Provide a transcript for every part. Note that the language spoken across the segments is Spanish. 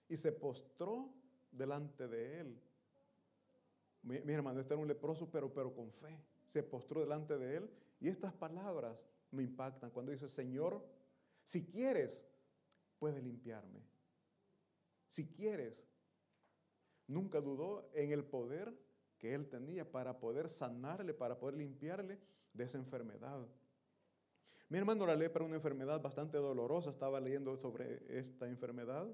y se postró delante de él. Mi hermano, este era un leproso, pero con fe. Se postró delante de él. Y estas palabras me impactan cuando dice: Señor, si quieres, puedes limpiarme. Si quieres. Nunca dudó en el poder que él tenía para poder sanarle, para poder limpiarle de esa enfermedad. Mi hermano, la lepra es una enfermedad bastante dolorosa. Estaba leyendo sobre esta enfermedad.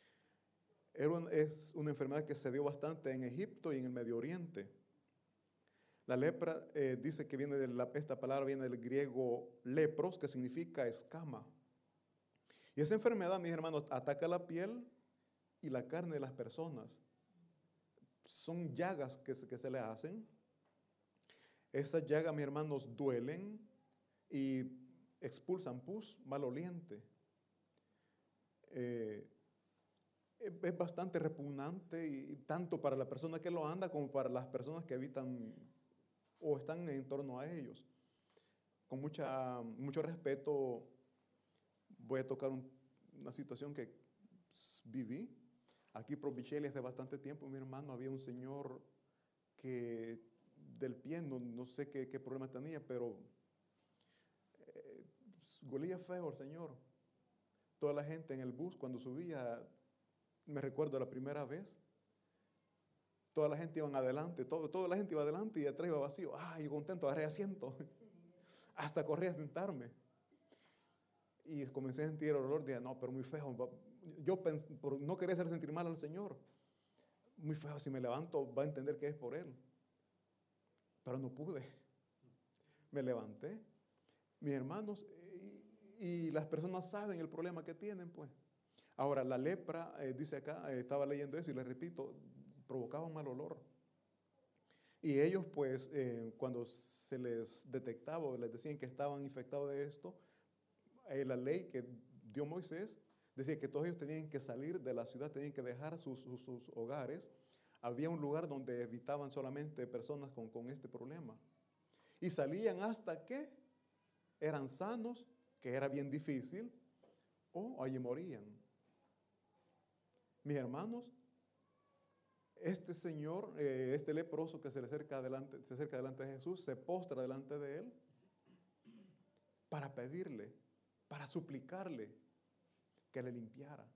Es una enfermedad que se dio bastante en Egipto y en el Medio Oriente. La lepra dice que viene esta palabra viene del griego lepros, que significa escama. Y esa enfermedad, mis hermanos, ataca la piel y la carne de las personas. Son llagas que se le hacen. Esas llagas, mis hermanos, duelen y expulsan pus maloliente. Es bastante repugnante, y tanto para la persona que lo anda como para las personas que habitan o están en torno a ellos. Con mucho respeto voy a tocar una situación que viví. Aquí por Michelle hace bastante tiempo, mi hermano, había un señor que del pie, no sé qué problema tenía, pero golía feo el señor. Toda la gente en el bus cuando subía, me recuerdo la primera vez, toda la gente iba adelante, toda la gente iba adelante y atrás iba vacío. Yo contento, agarré asiento. Hasta corrí a sentarme. Y comencé a sentir el olor, dije, no, pero muy feo. Yo por no querer hacer sentir mal al Señor. Muy feo, si me levanto va a entender que es por Él. Pero no pude. Me levanté. Mis hermanos, y las personas saben el problema que tienen, pues. Ahora, la lepra, dice acá, estaba leyendo eso y les repito, provocaba un mal olor. Y ellos, pues, cuando se les detectaba o les decían que estaban infectados de esto, la ley que dio Moisés decía que todos ellos tenían que salir de la ciudad, tenían que dejar sus hogares. Había un lugar donde evitaban solamente personas con este problema. Y salían hasta que eran sanos, que era bien difícil, o allí morían. Mis hermanos, este señor, este leproso que se acerca delante de Jesús, se postra delante de él para pedirle, para suplicarle que le limpiara.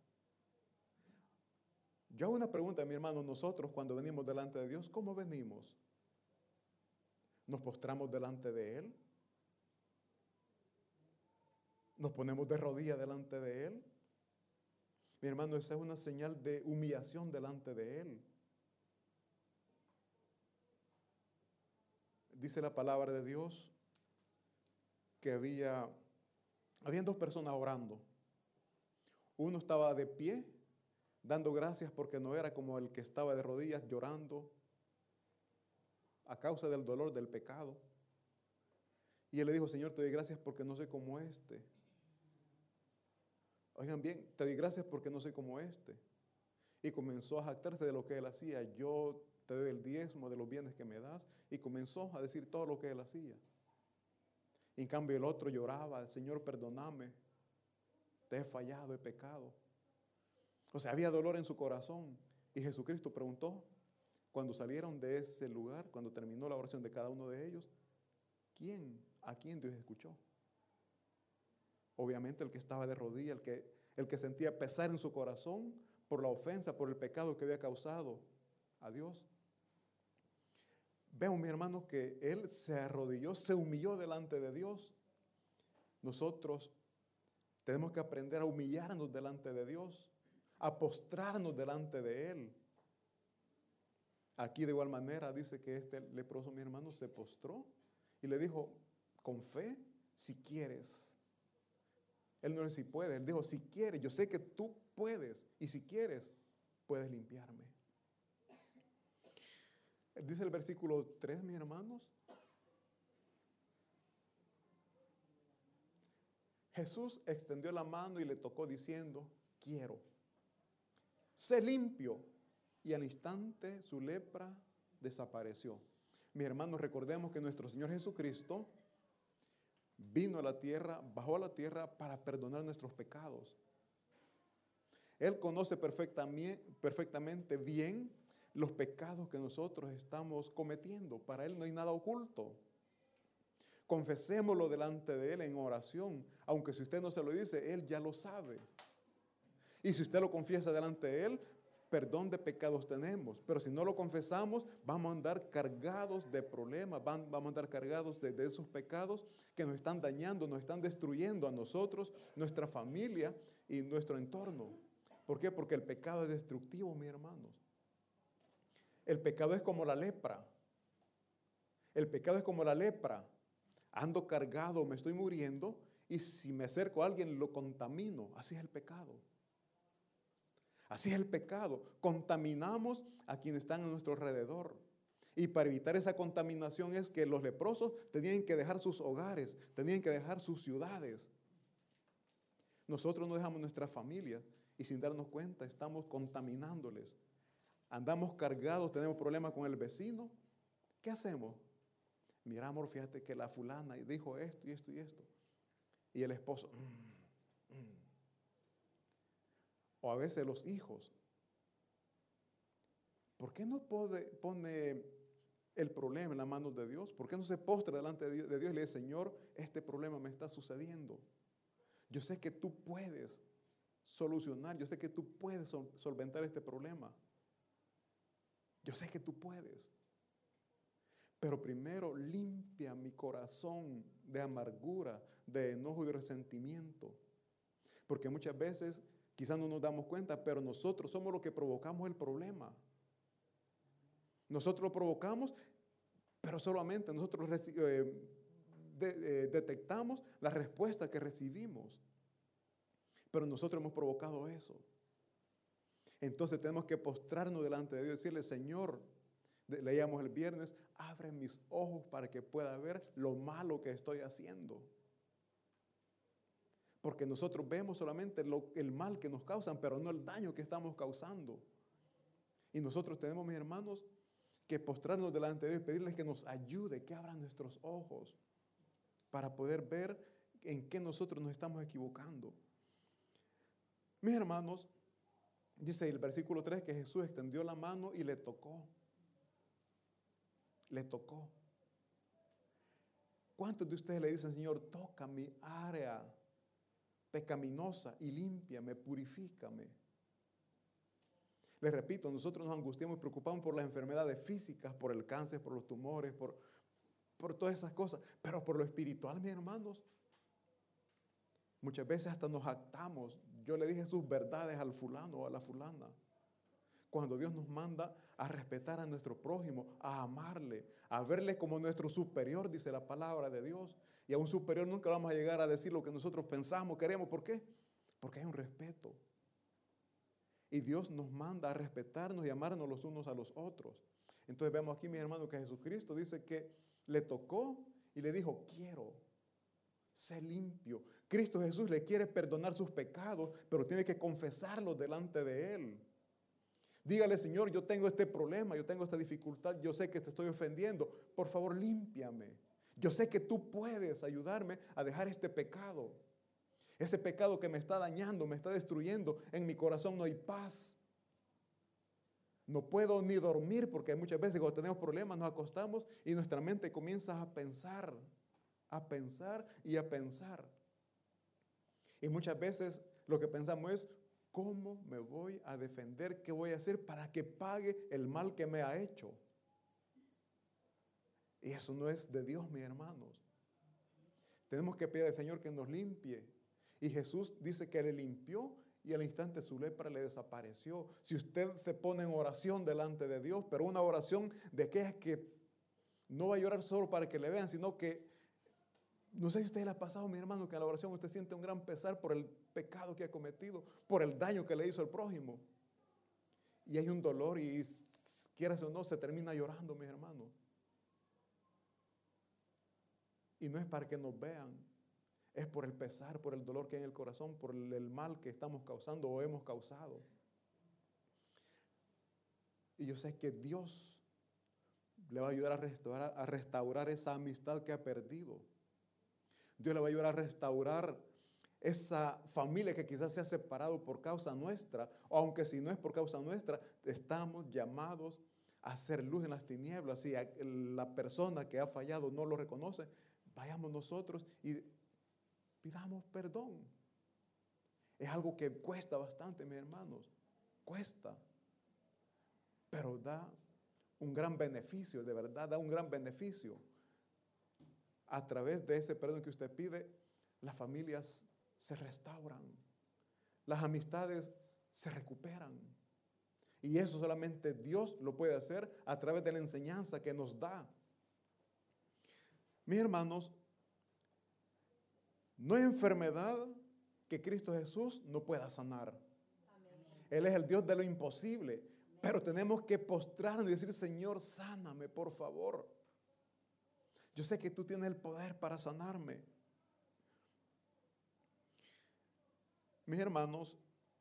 Yo hago una pregunta, mi hermano, nosotros cuando venimos delante de Dios, ¿cómo venimos? ¿Nos postramos delante de Él? ¿Nos ponemos de rodillas delante de Él? Mi hermano, esa es una señal de humillación delante de Él. Dice la palabra de Dios que habían dos personas orando. Uno estaba de pie, dando gracias porque no era como el que estaba de rodillas llorando a causa del dolor del pecado. Y él le dijo: Señor, te doy gracias porque no soy como este. Oigan bien, te doy gracias porque no soy como este. Y comenzó a jactarse de lo que él hacía. Yo te doy el diezmo de los bienes que me das. Y comenzó a decir todo lo que él hacía. En cambio el otro lloraba: Señor, perdóname, te he fallado, he pecado. O sea, había dolor en su corazón. Y Jesucristo preguntó, cuando salieron de ese lugar, cuando terminó la oración de cada uno de ellos, ¿a quién Dios escuchó? Obviamente el que estaba de rodillas, el que sentía pesar en su corazón por la ofensa, por el pecado que había causado a Dios. Vemos, mi hermano, que él se arrodilló, se humilló delante de Dios. Nosotros tenemos que aprender a humillarnos delante de Dios, a postrarnos delante de Él. Aquí de igual manera dice que este leproso, mi hermano, se postró y le dijo con fe: si quieres. Él no dijo si puedes, él dijo: si quieres, yo sé que tú puedes, y si quieres, puedes limpiarme. Dice el versículo 3, mis hermanos: Jesús extendió la mano y le tocó diciendo: quiero, sé limpio. Y al instante su lepra desapareció. Mis hermanos, recordemos que nuestro Señor Jesucristo vino a la tierra, bajó a la tierra para perdonar nuestros pecados. Él conoce perfectamente bien los pecados que nosotros estamos cometiendo. Para Él no hay nada oculto. Confesémoslo delante de Él en oración, aunque si usted no se lo dice, Él ya lo sabe. Y si usted lo confiesa delante de Él, perdón de pecados tenemos. Pero si no lo confesamos, vamos a andar cargados de problemas, vamos a andar cargados de esos pecados que nos están dañando, nos están destruyendo a nosotros, nuestra familia y nuestro entorno. ¿Por qué? Porque el pecado es destructivo, mis hermanos. El pecado es como la lepra. El pecado es como la lepra. Ando cargado, me estoy muriendo, y si me acerco a alguien lo contamino. Así es el pecado. Así es el pecado. Contaminamos a quienes están a nuestro alrededor. Y para evitar esa contaminación es que los leprosos tenían que dejar sus hogares, tenían que dejar sus ciudades. Nosotros no dejamos nuestras familias y sin darnos cuenta estamos contaminándoles. Andamos cargados, tenemos problemas con el vecino. ¿Qué hacemos? Mira, amor, fíjate que la fulana dijo esto y esto y esto. Y el esposo. O a veces los hijos. ¿Por qué no pone el problema en las manos de Dios? ¿Por qué no se postra delante de Dios y le dice, Señor, este problema me está sucediendo? Yo sé que tú puedes solucionar, yo sé que tú puedes solventar este problema. Yo sé que tú puedes. Pero primero limpia mi corazón de amargura, de enojo y de resentimiento. Porque muchas veces quizás no nos damos cuenta, pero nosotros somos los que provocamos el problema. Nosotros lo provocamos, pero solamente nosotros detectamos la respuesta que recibimos. Pero nosotros hemos provocado eso. Entonces tenemos que postrarnos delante de Dios y decirle, Señor, leíamos el viernes, abre mis ojos para que pueda ver lo malo que estoy haciendo. Porque nosotros vemos solamente el mal que nos causan, pero no el daño que estamos causando. Y nosotros tenemos, mis hermanos, que postrarnos delante de Dios y pedirles que nos ayude, que abran nuestros ojos para poder ver en qué nosotros nos estamos equivocando. Mis hermanos, dice el versículo 3 que Jesús extendió la mano y le tocó. Le tocó. ¿Cuántos de ustedes le dicen, Señor, toca mi área pecaminosa y límpiame, purifícame? Les repito, nosotros nos angustiamos y preocupamos por las enfermedades físicas, por el cáncer, por los tumores, por todas esas cosas. Pero por lo espiritual, mis hermanos, muchas veces hasta nos jactamos. Yo le dije sus verdades al fulano o a la fulana. Cuando Dios nos manda a respetar a nuestro prójimo, a amarle, a verle como nuestro superior, dice la palabra de Dios. Y a un superior nunca vamos a llegar a decir lo que nosotros pensamos, queremos. ¿Por qué? Porque hay un respeto. Y Dios nos manda a respetarnos y amarnos los unos a los otros. Entonces vemos aquí, mi hermano, que Jesucristo dice que le tocó y le dijo, quiero, sé limpio. Cristo Jesús le quiere perdonar sus pecados, pero tiene que confesarlos delante de Él. Dígale, Señor, yo tengo este problema, yo tengo esta dificultad, yo sé que te estoy ofendiendo. Por favor, límpiame. Yo sé que tú puedes ayudarme a dejar este pecado. Ese pecado que me está dañando, me está destruyendo. En mi corazón no hay paz. No puedo ni dormir porque muchas veces cuando tenemos problemas nos acostamos y nuestra mente comienza a pensar y a pensar. Y muchas veces lo que pensamos es, ¿cómo me voy a defender? ¿Qué voy a hacer para que pague el mal que me ha hecho? Y eso no es de Dios, mis hermanos. Tenemos que pedir al Señor que nos limpie. Y Jesús dice que le limpió y al instante su lepra le desapareció. Si usted se pone en oración delante de Dios, pero una oración de que es que no va a llorar solo para que le vean, sino que, no sé si a usted le ha pasado, mi hermano, que en la oración usted siente un gran pesar por el pecado que ha cometido, por el daño que le hizo al prójimo. Y hay un dolor y quieras o no, se termina llorando, mis hermanos. Y no es para que nos vean. Es por el pesar, por el dolor que hay en el corazón, por el mal que estamos causando o hemos causado. Y yo sé que Dios le va a ayudar a restaurar esa amistad que ha perdido. Dios le va a ayudar a restaurar esa familia que quizás se ha separado por causa nuestra, o aunque si no es por causa nuestra, estamos llamados a hacer luz en las tinieblas. Si la persona que ha fallado no lo reconoce, vayamos nosotros y pidamos perdón. Es algo que cuesta bastante, mis hermanos, cuesta, pero da un gran beneficio, de verdad, da un gran beneficio. A través de ese perdón que usted pide, las familias se restauran, las amistades se recuperan. Y eso solamente Dios lo puede hacer a través de la enseñanza que nos da. Mis hermanos, no hay enfermedad que Cristo Jesús no pueda sanar. Amén. Él es el Dios de lo imposible. Amén. Pero tenemos que postrarnos y decir, Señor, sáname, por favor. Yo sé que tú tienes el poder para sanarme. Mis hermanos,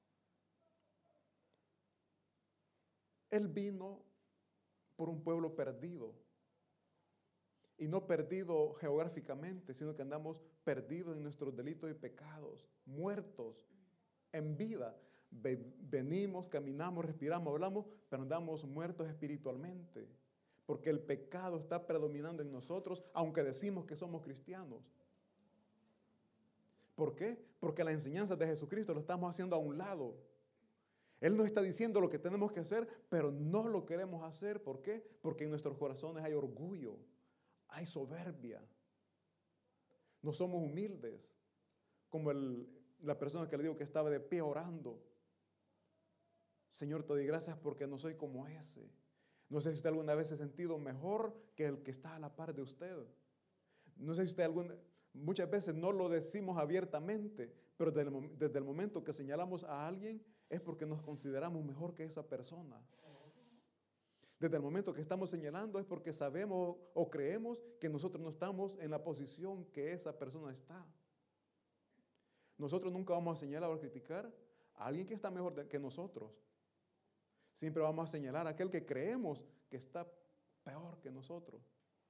Él vino por un pueblo perdido. Y no perdido geográficamente, sino que andamos perdidos en nuestros delitos y pecados, muertos en vida. Venimos, caminamos, respiramos, hablamos, pero andamos muertos espiritualmente. Porque el pecado está predominando en nosotros, aunque decimos que somos cristianos. ¿Por qué? Porque las enseñanzas de Jesucristo lo estamos haciendo a un lado. Él nos está diciendo lo que tenemos que hacer, pero no lo queremos hacer. ¿Por qué? Porque en nuestros corazones hay orgullo, hay soberbia. No somos humildes, como la persona que le digo que estaba de pie orando. Señor, te doy gracias porque no soy como ese. No sé si usted alguna vez se ha sentido mejor que el que está a la par de usted. No sé si usted muchas veces no lo decimos abiertamente, pero desde el momento que señalamos a alguien es porque nos consideramos mejor que esa persona. Desde el momento que estamos señalando es porque sabemos o creemos que nosotros no estamos en la posición que esa persona está. Nosotros nunca vamos a señalar o criticar a alguien que está mejor que nosotros. Siempre vamos a señalar a aquel que creemos que está peor que nosotros.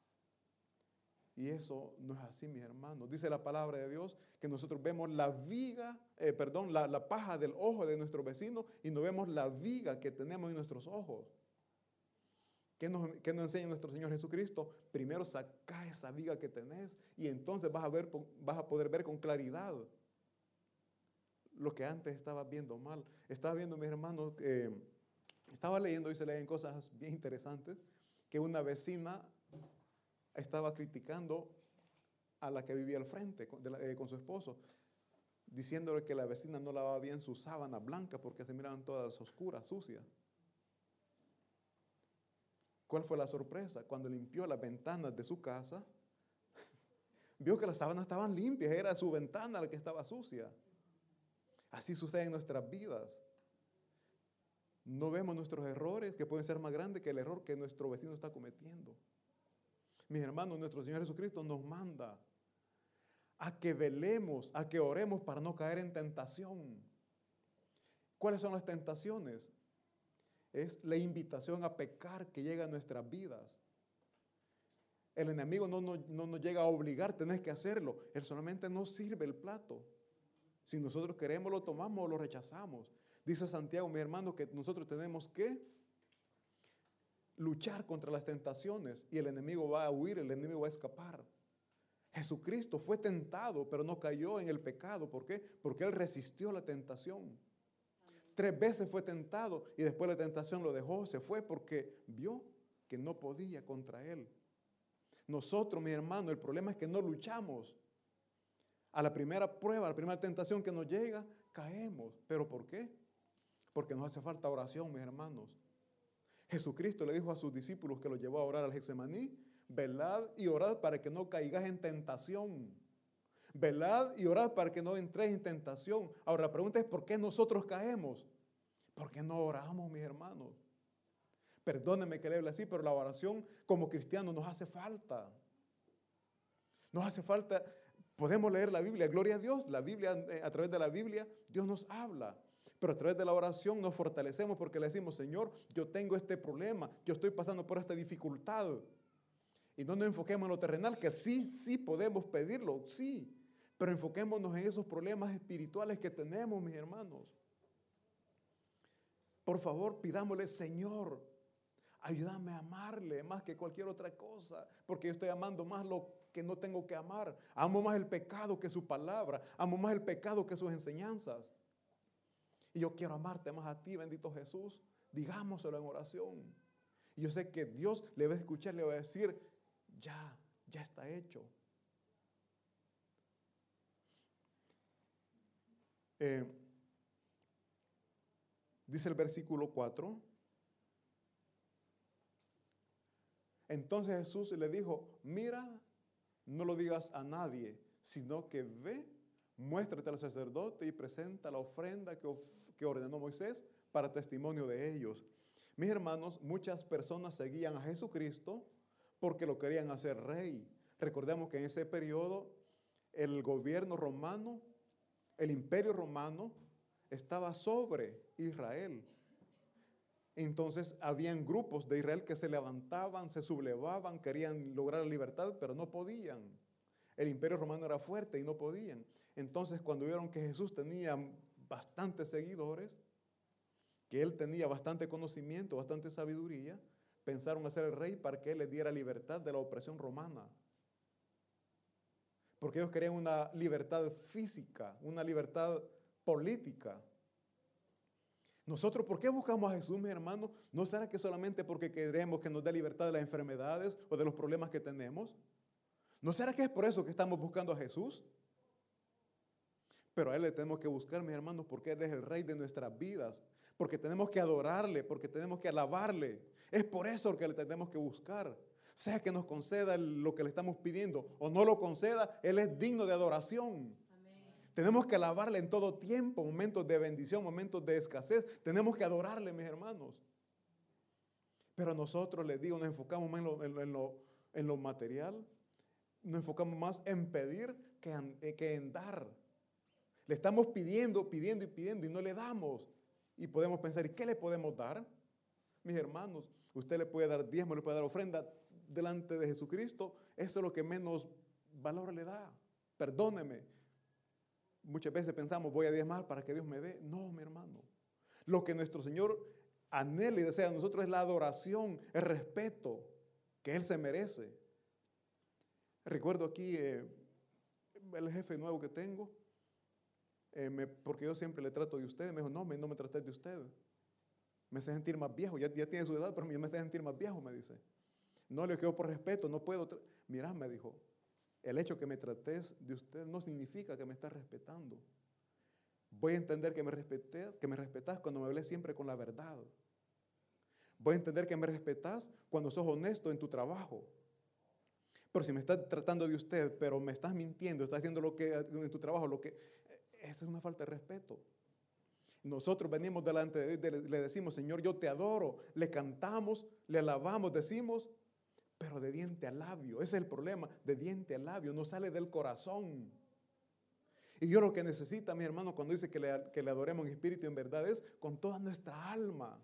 Y eso no es así, mis hermanos. Dice la palabra de Dios que nosotros vemos la paja del ojo de nuestro vecino y no vemos la viga que tenemos en nuestros ojos. ¿Qué nos enseña nuestro Señor Jesucristo? Primero saca esa viga que tenés y entonces vas a poder ver con claridad lo que antes estabas viendo mal. Estaba viendo, mis hermanos, estaba leyendo y se leen cosas bien interesantes, que una vecina estaba criticando a la que vivía al frente con su esposo, diciéndole que la vecina no lavaba bien su sábana blanca porque se miraban todas oscuras, sucias. ¿Cuál fue la sorpresa? Cuando limpió las ventanas de su casa, vio que las sábanas estaban limpias, era su ventana la que estaba sucia. Así sucede en nuestras vidas. No vemos nuestros errores, que pueden ser más grandes que el error que nuestro vecino está cometiendo. Mis hermanos, nuestro Señor Jesucristo nos manda a que velemos, a que oremos para no caer en tentación. ¿Cuáles son las tentaciones? Es la invitación a pecar que llega a nuestras vidas. El enemigo no nos llega a obligar, tenés que hacerlo. Él solamente nos sirve el plato. Si nosotros queremos, lo tomamos o lo rechazamos. Dice Santiago, mi hermano, que nosotros tenemos que luchar contra las tentaciones y el enemigo va a huir, el enemigo va a escapar. Jesucristo fue tentado, pero no cayó en el pecado. ¿Por qué? Porque Él resistió la tentación. 3 veces fue tentado y después la tentación lo dejó, se fue porque vio que no podía contra Él. Nosotros, mi hermano, el problema es que no luchamos. A la primera prueba, a la primera tentación que nos llega, caemos. ¿Pero por qué? Porque nos hace falta oración, mis hermanos. Jesucristo le dijo a sus discípulos que los llevó a orar al Getsemaní, velad y orad para que no caigáis en tentación. Velad y orad para que no entréis en tentación. Ahora la pregunta es, ¿por qué nosotros caemos? ¿Por qué no oramos, mis hermanos? Perdónenme que le hable así, pero la oración como cristianos nos hace falta. Nos hace falta, podemos leer la Biblia, gloria a Dios, la Biblia, a través de la Biblia, Dios nos habla. Pero a través de la oración nos fortalecemos porque le decimos, Señor, yo tengo este problema, yo estoy pasando por esta dificultad. Y no nos enfoquemos en lo terrenal, que sí podemos pedirlo, sí. Pero enfoquémonos en esos problemas espirituales que tenemos, mis hermanos. Por favor, pidámosle, Señor, ayúdame a amarle más que cualquier otra cosa, porque yo estoy amando más lo que no tengo que amar. Amo más el pecado que su palabra. Amo más el pecado que sus enseñanzas. Y yo quiero amarte más a ti, bendito Jesús. Digámoselo en oración. Y yo sé que Dios le va a escuchar, le va a decir, ya está hecho. Dice el versículo 4. Entonces Jesús le dijo, mira, no lo digas a nadie, sino que ve, muéstrate al sacerdote y presenta la ofrenda que ordenó Moisés para testimonio de ellos. Mis hermanos, muchas personas seguían a Jesucristo porque lo querían hacer rey. Recordemos que en ese periodo el gobierno romano, el imperio romano, estaba sobre Israel. Entonces habían grupos de Israel que se levantaban, se sublevaban, querían lograr la libertad, pero no podían. El imperio romano era fuerte y no podían. Entonces cuando vieron que Jesús tenía bastantes seguidores, que él tenía bastante conocimiento, bastante sabiduría, pensaron hacer el rey para que él les diera libertad de la opresión romana. Porque ellos querían una libertad física, una libertad política. Nosotros, ¿por qué buscamos a Jesús, mi hermano? ¿No será que solamente porque queremos que nos dé libertad de las enfermedades o de los problemas que tenemos? ¿No será que es por eso que estamos buscando a Jesús? Pero a Él le tenemos que buscar, mis hermanos, porque Él es el Rey de nuestras vidas, porque tenemos que adorarle, porque tenemos que alabarle. Es por eso que le tenemos que buscar. Sea que nos conceda lo que le estamos pidiendo o no lo conceda, Él es digno de adoración. Tenemos que alabarle en todo tiempo, momentos de bendición, momentos de escasez. Tenemos que adorarle, mis hermanos. Pero nosotros, les digo, nos enfocamos más en lo material. Nos enfocamos más en pedir que en dar. Le estamos pidiendo y no le damos. Y podemos pensar, ¿y qué le podemos dar? Mis hermanos, usted le puede dar diezmo, le puede dar ofrenda delante de Jesucristo. Eso es lo que menos valor le da. Perdóneme. Muchas veces pensamos, voy a diezmar para que Dios me dé. No, mi hermano. Lo que nuestro Señor anhela y desea de nosotros es la adoración, el respeto que Él se merece. Recuerdo aquí el jefe nuevo que tengo, porque yo siempre le trato de usted. Me dijo, no me trates de usted. Me hace sentir más viejo. Ya tiene su edad, pero me hace sentir más viejo, me dice. No, le quedo por respeto, no puedo. Mirá, me dijo. El hecho que me trates de usted no significa que me estás respetando. Voy a entender que me respetas cuando me hables siempre con la verdad. Voy a entender que me respetas cuando sos honesto en tu trabajo. Pero si me estás tratando de usted, pero me estás mintiendo, estás haciendo lo que en tu trabajo, esa es una falta de respeto. Nosotros venimos delante de Dios, le decimos, Señor, yo te adoro, le cantamos, le alabamos, decimos, pero de diente a labio. Ese es el problema, de diente a labio, no sale del corazón. Y yo lo que necesita, mi hermano, cuando dice que le adoremos en espíritu y en verdad, es con toda nuestra alma.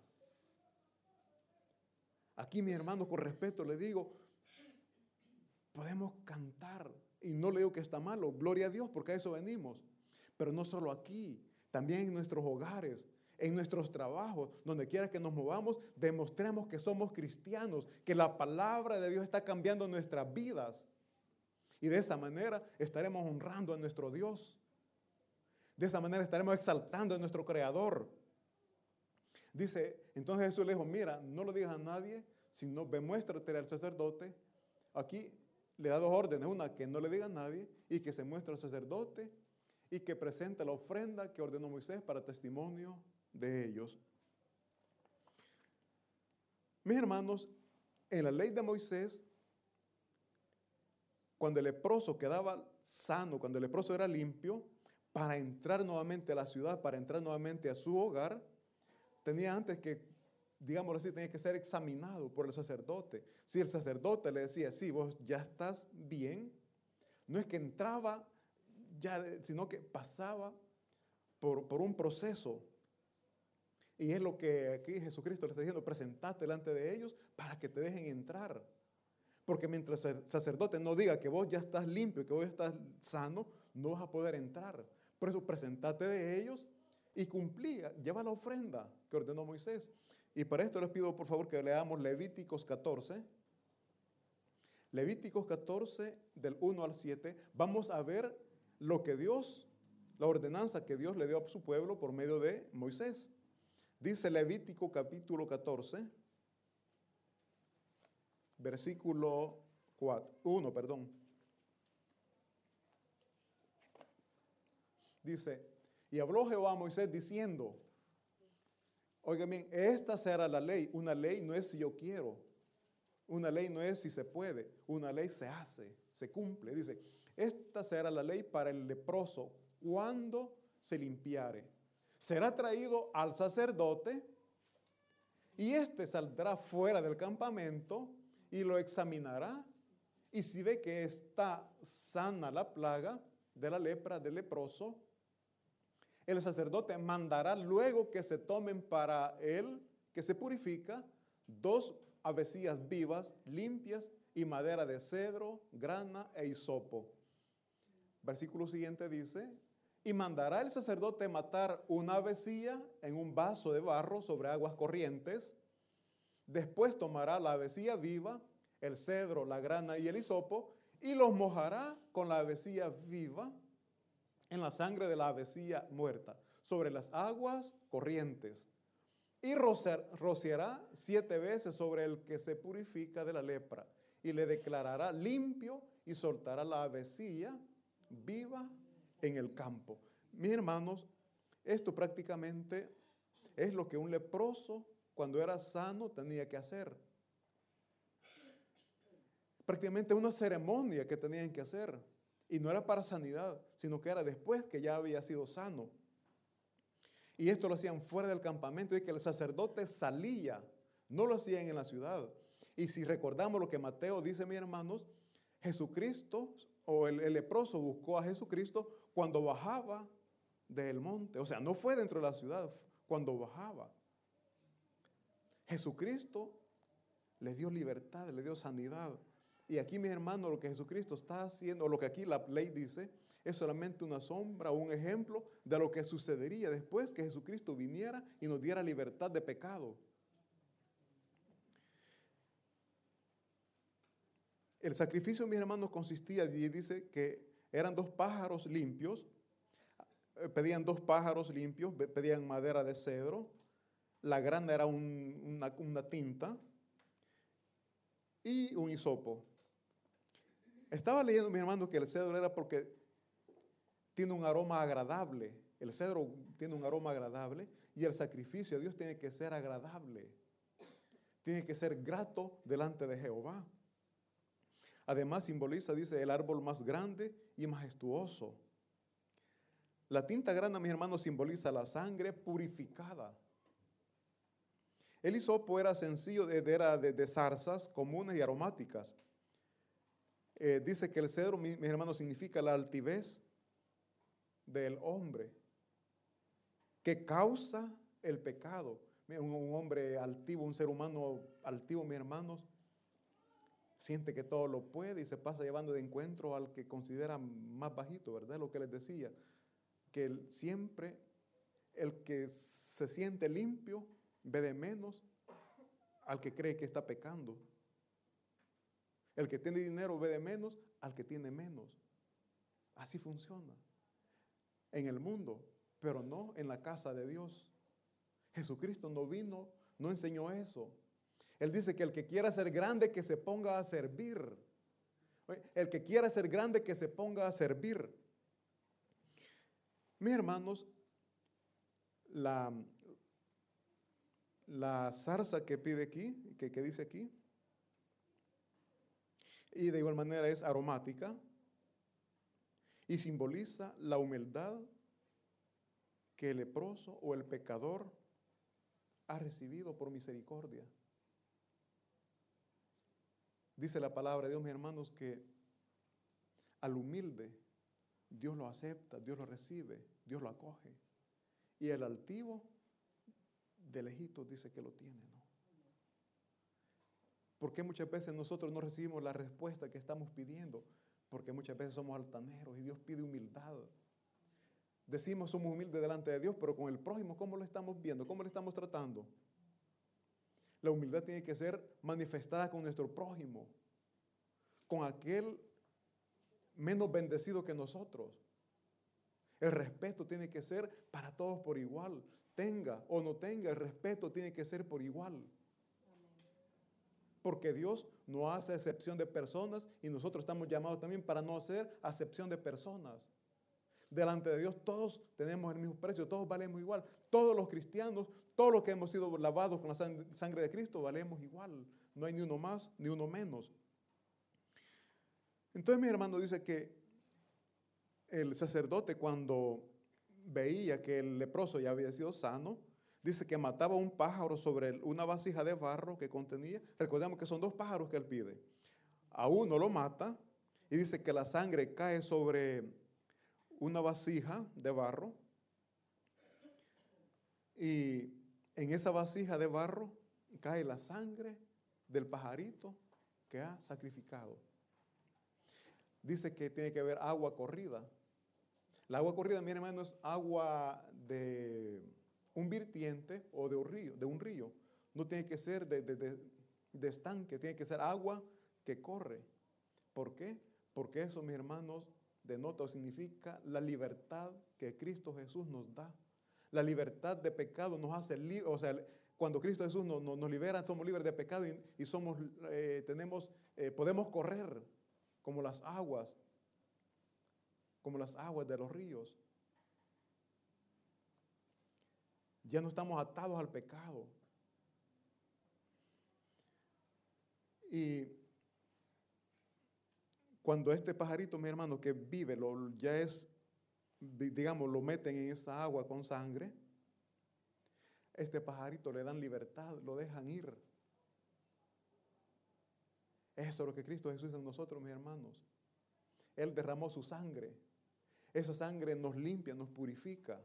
Aquí, mi hermano, con respeto le digo, podemos cantar, y no le digo que está malo, gloria a Dios, porque a eso venimos. Pero no solo aquí, también en nuestros hogares, en nuestros trabajos, donde quiera que nos movamos, demostremos que somos cristianos, que la palabra de Dios está cambiando nuestras vidas. Y de esa manera estaremos honrando a nuestro Dios. De esa manera estaremos exaltando a nuestro Creador. Dice, entonces Jesús le dijo, mira, no lo digas a nadie, sino muéstrate al sacerdote. Aquí le da dos órdenes, una que no le diga a nadie y que se muestre al sacerdote y que presente la ofrenda que ordenó Moisés para testimonio de ellos. Mis hermanos, en la ley de Moisés, cuando el leproso quedaba sano, cuando el leproso era limpio, para entrar nuevamente a la ciudad, para entrar nuevamente a su hogar, tenía antes que, digámoslo así, tenía que ser examinado por el sacerdote. Si el sacerdote le decía, sí, vos ya estás bien, no es que entraba ya, sino que pasaba por un proceso. Y es lo que aquí Jesucristo le está diciendo, presentate delante de ellos para que te dejen entrar. Porque mientras el sacerdote no diga que vos ya estás limpio, que vos estás sano, no vas a poder entrar. Por eso presentate de ellos y cumplía, lleva la ofrenda que ordenó Moisés. Y para esto les pido por favor que leamos Levíticos 14. Levíticos 14 del 1 al 7. Vamos a ver lo que Dios, la ordenanza que Dios le dio a su pueblo por medio de Moisés. Dice Levítico capítulo 14, versículo 1, perdón. Dice, y habló Jehová a Moisés diciendo, oigan bien, esta será la ley. Una ley no es si yo quiero. Una ley no es si se puede. Una ley se hace, se cumple. Dice, esta será la ley para el leproso cuando se limpiare. Será traído al sacerdote y éste saldrá fuera del campamento y lo examinará. Y si ve que está sana la plaga de la lepra del leproso, el sacerdote mandará luego que se tomen para él, que se purifica, 2 avecillas vivas, limpias, y madera de cedro, grana e hisopo. Versículo siguiente dice, y mandará el sacerdote matar una avecilla en un vaso de barro sobre aguas corrientes. Después tomará la avecilla viva, el cedro, la grana y el hisopo, y los mojará con la avecilla viva en la sangre de la avecilla muerta, sobre las aguas corrientes. Y rociará 7 veces sobre el que se purifica de la lepra, y le declarará limpio y soltará la avecilla viva en el campo. Mis hermanos, esto prácticamente es lo que un leproso, cuando era sano, tenía que hacer. Prácticamente una ceremonia que tenían que hacer. Y no era para sanidad, sino que era después que ya había sido sano. Y esto lo hacían fuera del campamento, y que el sacerdote salía, no lo hacían en la ciudad. Y si recordamos lo que Mateo dice, mis hermanos, Jesucristo, o el leproso buscó a Jesucristo cuando bajaba del monte. O sea, no fue dentro de la ciudad, cuando bajaba. Jesucristo le dio libertad, le dio sanidad. Y aquí, mis hermanos, lo que Jesucristo está haciendo, o lo que aquí la ley dice, es solamente una sombra, un ejemplo de lo que sucedería después que Jesucristo viniera y nos diera libertad de pecado. El sacrificio, mis hermanos, consistía, y dice que eran 2 pájaros limpios, pedían 2 pájaros limpios, pedían madera de cedro, la grana era una tinta y un hisopo. Estaba leyendo, mis hermanos, que el cedro era porque tiene un aroma agradable. El cedro tiene un aroma agradable y el sacrificio a Dios tiene que ser agradable. Tiene que ser grato delante de Jehová. Además simboliza, dice, el árbol más grande y majestuoso. La tinta grana, mis hermanos, simboliza la sangre purificada. El hisopo era sencillo, era de zarzas comunes y aromáticas. Dice que el cedro, mis hermanos, significa la altivez del hombre que causa el pecado. Un hombre altivo, un ser humano altivo, mis hermanos, siente que todo lo puede y se pasa llevando de encuentro al que considera más bajito, ¿verdad? Lo que les decía, que siempre el que se siente limpio ve de menos al que cree que está pecando. El que tiene dinero ve de menos al que tiene menos. Así funciona en el mundo, pero no en la casa de Dios. Jesucristo no vino, no enseñó eso. Él dice que el que quiera ser grande, que se ponga a servir. El que quiera ser grande, que se ponga a servir. Mis hermanos, la zarza que pide aquí, que dice aquí, y de igual manera es aromática y simboliza la humildad que el leproso o el pecador ha recibido por misericordia. Dice la palabra de Dios, mis hermanos, que al humilde Dios lo acepta, Dios lo recibe, Dios lo acoge. Y el altivo de lejitos dice que lo tiene, ¿no? ¿Por qué muchas veces nosotros no recibimos la respuesta que estamos pidiendo? porque muchas veces somos altaneros y Dios pide humildad. Decimos somos humildes delante de Dios, pero con el prójimo, ¿cómo lo estamos viendo? ¿Cómo lo estamos tratando? La humildad tiene que ser manifestada con nuestro prójimo, con aquel menos bendecido que nosotros. El respeto tiene que ser para todos por igual. Tenga o no tenga, el respeto tiene que ser por igual. Porque Dios no hace excepción de personas y nosotros estamos llamados también para no hacer acepción de personas. Delante de Dios todos tenemos el mismo precio, todos valemos igual. Todos los cristianos, todos los que hemos sido lavados con la sangre de Cristo, valemos igual. No hay ni uno más ni uno menos. Entonces mi hermano dice que el sacerdote, cuando veía que el leproso ya había sido sano, dice que mataba un pájaro sobre una vasija de barro que contenía. Recordemos que son 2 pájaros que él pide. A uno lo mata y dice que la sangre cae sobre una vasija de barro. Y en esa vasija de barro cae la sangre del pajarito que ha sacrificado. Dice que tiene que haber agua corrida. La agua corrida, mi hermano, es agua de un vertiente o de un río. No tiene que ser de estanque, tiene que ser agua que corre. ¿Por qué? Porque eso, mis hermanos, denota o significa la libertad que Cristo Jesús nos da. La libertad de pecado nos hace libres. O sea, cuando Cristo Jesús nos libera, somos libres de pecado y podemos correr como las aguas de los ríos. Ya no estamos atados al pecado. Y cuando este pajarito, mi hermano, que vive, lo meten en esa agua con sangre, este pajarito le dan libertad, lo dejan ir. Eso es lo que Cristo Jesús hizo en nosotros, mis hermanos. Él derramó su sangre. Esa sangre nos limpia, nos purifica.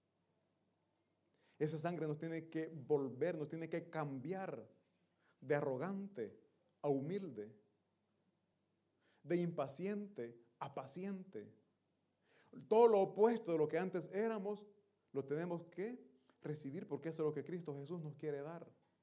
Esa sangre nos tiene que volver, nos tiene que cambiar de arrogante a humilde, de impaciente a paciente. Todo lo opuesto de lo que antes éramos, lo tenemos que recibir porque eso es lo que Cristo Jesús nos quiere dar.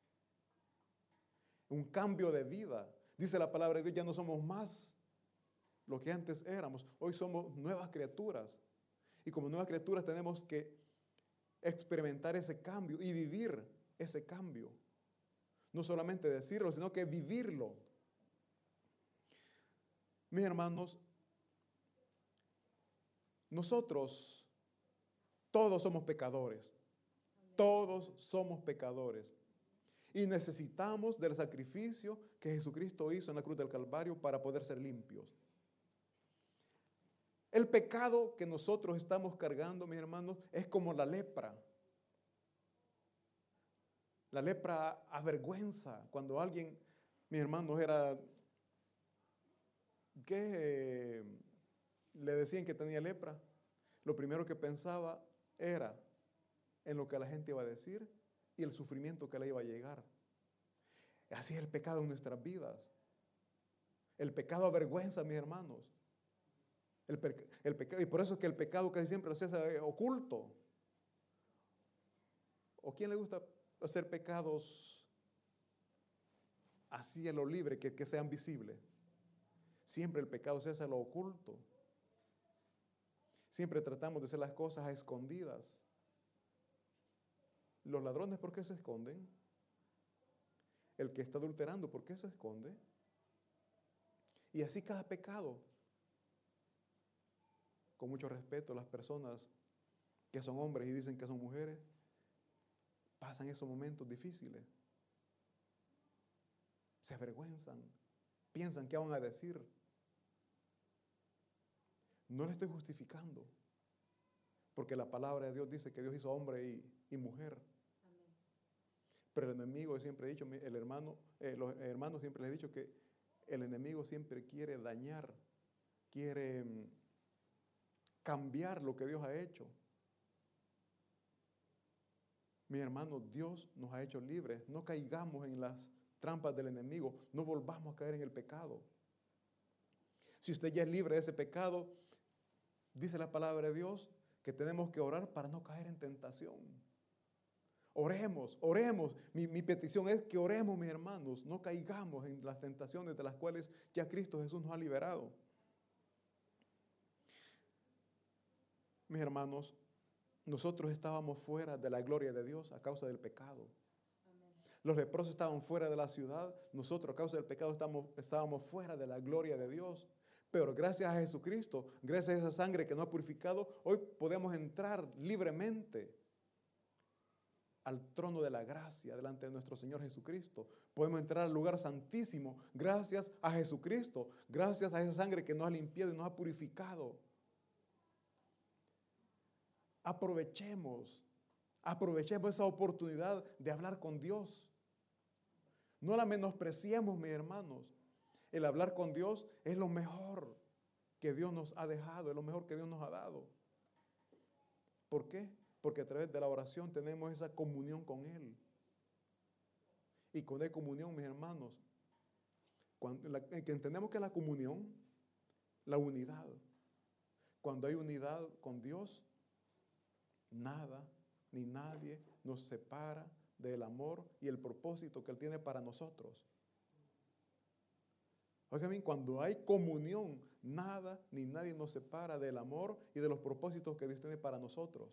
Un cambio de vida. Dice la palabra de Dios, ya no somos más lo que antes éramos. Hoy somos nuevas criaturas. Y como nuevas criaturas tenemos que experimentar ese cambio y vivir ese cambio. No solamente decirlo, sino que vivirlo. Mis hermanos, nosotros todos somos pecadores. Todos somos pecadores. Y necesitamos del sacrificio que Jesucristo hizo en la cruz del Calvario para poder ser limpios. El pecado que nosotros estamos cargando, mis hermanos, es como la lepra. La lepra avergüenza. Cuando alguien, mis hermanos, le decían que tenía lepra, lo primero que pensaba era en lo que la gente iba a decir y el sufrimiento que le iba a llegar. Así es el pecado en nuestras vidas. El pecado avergüenza, mis hermanos. El pecado, y por eso es que el pecado casi siempre se hace oculto. ¿O quién le gusta hacer pecados así a lo libre, que sean visibles? Siempre el pecado se hace a lo oculto. Siempre tratamos de hacer las cosas a escondidas. Los ladrones, ¿por qué se esconden? El que está adulterando, ¿por qué se esconde? Y así cada pecado. Con mucho respeto, las personas que son hombres y dicen que son mujeres, pasan esos momentos difíciles. Se avergüenzan, piensan qué van a decir. No le estoy justificando, porque la palabra de Dios dice que Dios hizo hombre y mujer. Amén. Pero el enemigo, siempre he dicho, los hermanos siempre les he dicho que el enemigo siempre quiere dañar, quiere cambiar lo que Dios ha hecho. Mis hermanos, Dios nos ha hecho libres. No caigamos en las trampas del enemigo. No volvamos a caer en el pecado. Si usted ya es libre de ese pecado, dice la palabra de Dios que tenemos que orar para no caer en tentación. Oremos, oremos. Mi petición es que oremos, mis hermanos, no caigamos en las tentaciones de las cuales ya Cristo Jesús nos ha liberado. Mis hermanos, nosotros estábamos fuera de la gloria de Dios a causa del pecado. Los leprosos estaban fuera de la ciudad, nosotros a causa del pecado estábamos fuera de la gloria de Dios. Pero gracias a Jesucristo, gracias a esa sangre que nos ha purificado, hoy podemos entrar libremente al trono de la gracia delante de nuestro Señor Jesucristo. Podemos entrar al lugar santísimo gracias a Jesucristo, gracias a esa sangre que nos ha limpiado y nos ha purificado. Aprovechemos esa oportunidad de hablar con Dios. No la menospreciemos, mis hermanos. El hablar con Dios es lo mejor que Dios nos ha dejado, es lo mejor que Dios nos ha dado. ¿Por qué? Porque a través de la oración tenemos esa comunión con Él. Y con esa comunión, mis hermanos, que entendemos que la comunión, la unidad. Cuando hay unidad con Dios, nada ni nadie nos separa del amor y el propósito que Él tiene para nosotros. Oigan bien, cuando hay comunión, nada ni nadie nos separa del amor y de los propósitos que Dios tiene para nosotros.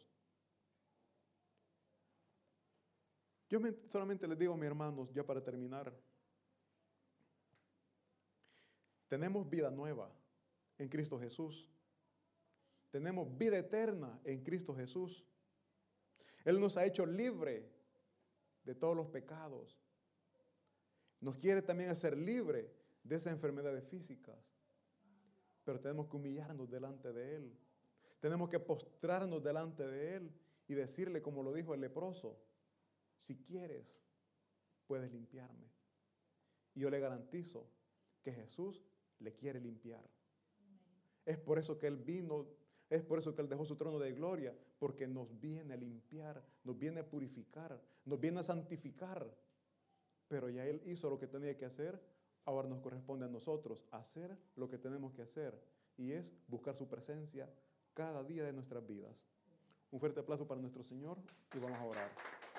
Yo solamente les digo, mis hermanos, ya para terminar, tenemos vida nueva en Cristo Jesús. Tenemos vida eterna en Cristo Jesús. Él nos ha hecho libre de todos los pecados. Nos quiere también hacer libre de esas enfermedades físicas. Pero tenemos que humillarnos delante de Él. Tenemos que postrarnos delante de Él y decirle, como lo dijo el leproso, si quieres, puedes limpiarme. Y yo le garantizo que Jesús le quiere limpiar. Es por eso que Él vino, es por eso que Él dejó su trono de gloria, porque nos viene a limpiar, nos viene a purificar, nos viene a santificar. Pero ya Él hizo lo que tenía que hacer, ahora nos corresponde a nosotros hacer lo que tenemos que hacer, y es buscar su presencia cada día de nuestras vidas. Un fuerte aplauso para nuestro Señor y vamos a orar.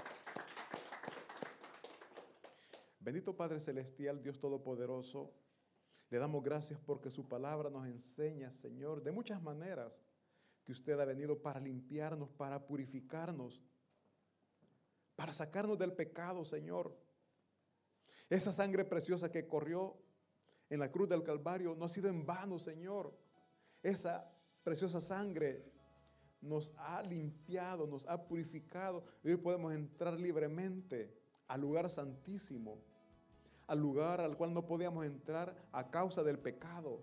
Bendito Padre Celestial, Dios Todopoderoso, le damos gracias porque su palabra nos enseña, Señor, de muchas maneras que usted ha venido para limpiarnos, para purificarnos, para sacarnos del pecado, Señor. Esa sangre preciosa que corrió en la cruz del Calvario no ha sido en vano, Señor. Esa preciosa sangre nos ha limpiado, nos ha purificado y hoy podemos entrar libremente al lugar santísimo, al lugar al cual no podíamos entrar a causa del pecado.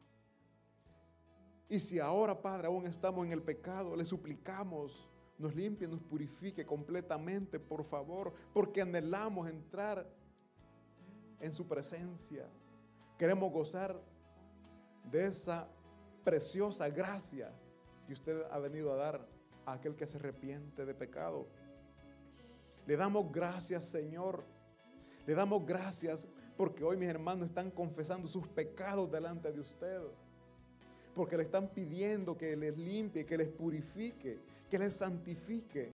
Y si ahora, Padre, aún estamos en el pecado, le suplicamos, nos limpie, nos purifique completamente, por favor, porque anhelamos entrar en su presencia. Queremos gozar de esa preciosa gracia que usted ha venido a dar a aquel que se arrepiente de pecado. Le damos gracias, Señor. Le damos gracias porque hoy mis hermanos están confesando sus pecados delante de usted. Porque le están pidiendo que les limpie, que les purifique, que les santifique.